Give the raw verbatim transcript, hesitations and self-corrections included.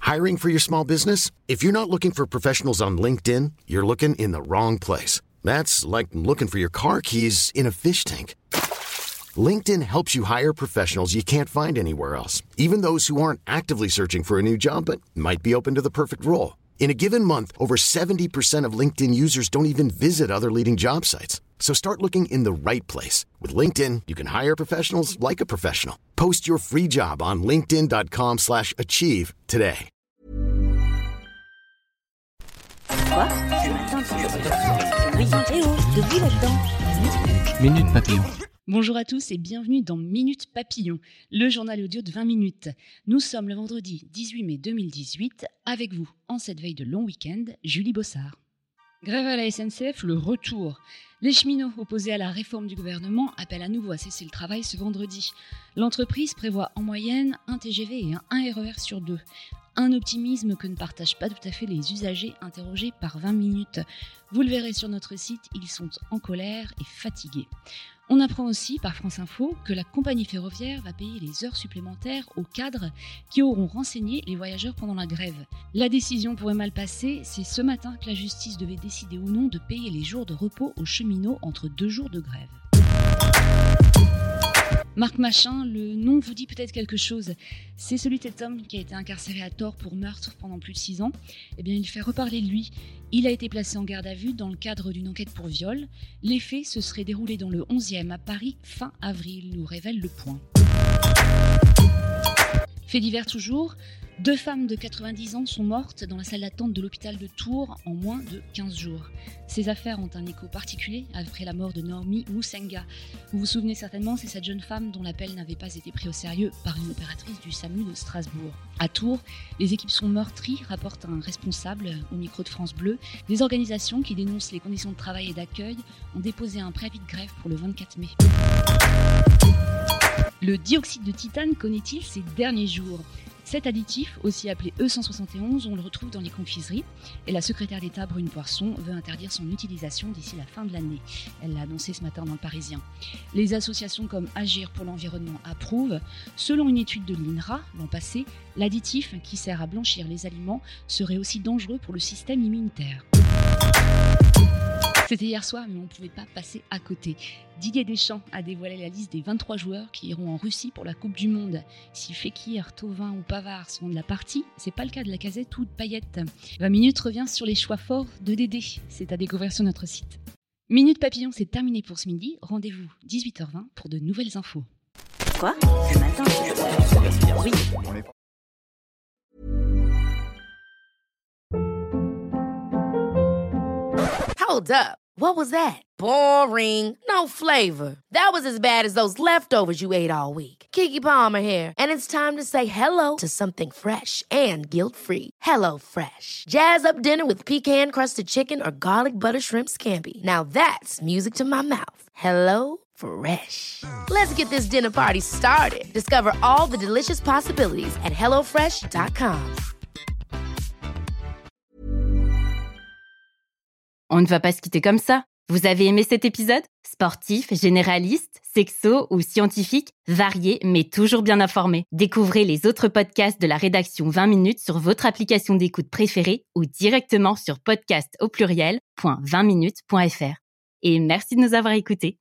Hiring for your small business? If you're not looking for professionals on LinkedIn, you're looking in the wrong place. That's like looking for your car keys in a fish tank. LinkedIn helps you hire professionals you can't find anywhere else, even those who aren't actively searching for a new job but might be open to the perfect role. In a given month, over seventy percent of LinkedIn users don't even visit other leading job sites. So start looking in the right place. With LinkedIn, you can hire professionals like a professional. Post your free job on linkedin.com slash achieve today. Quoi? Ce matin, tu Eh oh, debout là-dedans. Minute Papillon. Bonjour à tous et bienvenue dans Minute Papillon, le journal audio de vingt minutes. Nous sommes le vendredi dix-huit mai deux mille dix-huit, avec vous, en cette veille de long week-end, Julie Bossard. Grève à la S N C F, le retour. Les cheminots opposés à la réforme du gouvernement appellent à nouveau à cesser le travail ce vendredi. L'entreprise prévoit en moyenne un T G V et un R E R sur deux. Un optimisme que ne partagent pas tout à fait les usagers interrogés par vingt minutes. Vous le verrez sur notre site, ils sont en colère et fatigués. On apprend aussi par France Info que la compagnie ferroviaire va payer les heures supplémentaires aux cadres qui auront renseigné les voyageurs pendant la grève. La décision pourrait mal passer, c'est ce matin que la justice devait décider ou non de payer les jours de repos aux cheminots entre deux jours de grève. Marc Machin, le nom vous dit peut-être quelque chose. C'est celui de cet homme qui a été incarcéré à tort pour meurtre pendant plus de six ans. Eh bien, il fait reparler de lui. Il a été placé en garde à vue dans le cadre d'une enquête pour viol. Les faits se seraient déroulés dans le onzième à Paris fin avril, nous révèle Le Point. Fait divers toujours, deux femmes de quatre-vingt-dix ans sont mortes dans la salle d'attente de l'hôpital de Tours en moins de quinze jours. Ces affaires ont un écho particulier après la mort de Naomi Musenga. Vous vous souvenez certainement, c'est cette jeune femme dont l'appel n'avait pas été pris au sérieux par une opératrice du SAMU de Strasbourg. À Tours, les équipes sont meurtries, rapporte un responsable au micro de France Bleu. Des organisations qui dénoncent les conditions de travail et d'accueil ont déposé un préavis de grève pour le vingt-quatre mai. Le dioxyde de titane connaît-il ces derniers jours ? Cet additif, aussi appelé E cent soixante et onze, on le retrouve dans les confiseries et la secrétaire d'État Brune Poirson veut interdire son utilisation d'ici la fin de l'année. Elle l'a annoncé ce matin dans Le Parisien. Les associations comme Agir pour l'environnement approuvent. Selon une étude de l'INRA l'an passé, l'additif qui sert à blanchir les aliments serait aussi dangereux pour le système immunitaire. C'était hier soir, mais on ne pouvait pas passer à côté. Didier Deschamps a dévoilé la liste des vingt-trois joueurs qui iront en Russie pour la Coupe du Monde. Si Fekir, Thauvin ou Pavard sont de la partie, c'est pas le cas de Lacazette ou de Payet. vingt minutes revient sur les choix forts de Dédé. C'est à découvrir sur notre site. Minute Papillon, c'est terminé pour ce midi. Rendez-vous dix-huit heures vingt pour de nouvelles infos. Quoi? Ce matin, tu Oui. Hold up. What was that? Boring. No flavor. That was as bad as those leftovers you ate all week. Keke Palmer here, and it's time to say hello to something fresh and guilt-free. Hello Fresh. Jazz up dinner with pecan-crusted chicken or garlic butter shrimp scampi. Now that's music to my mouth. Hello Fresh. Let's get this dinner party started. Discover all the delicious possibilities at hello fresh dot com. On ne va pas se quitter comme ça. Vous avez aimé cet épisode ? Sportif, généraliste, sexo ou scientifique, varié mais toujours bien informé. Découvrez les autres podcasts de la rédaction vingt minutes sur votre application d'écoute préférée ou directement sur podcast au pluriel point vingt minutes point f r. Et merci de nous avoir écoutés.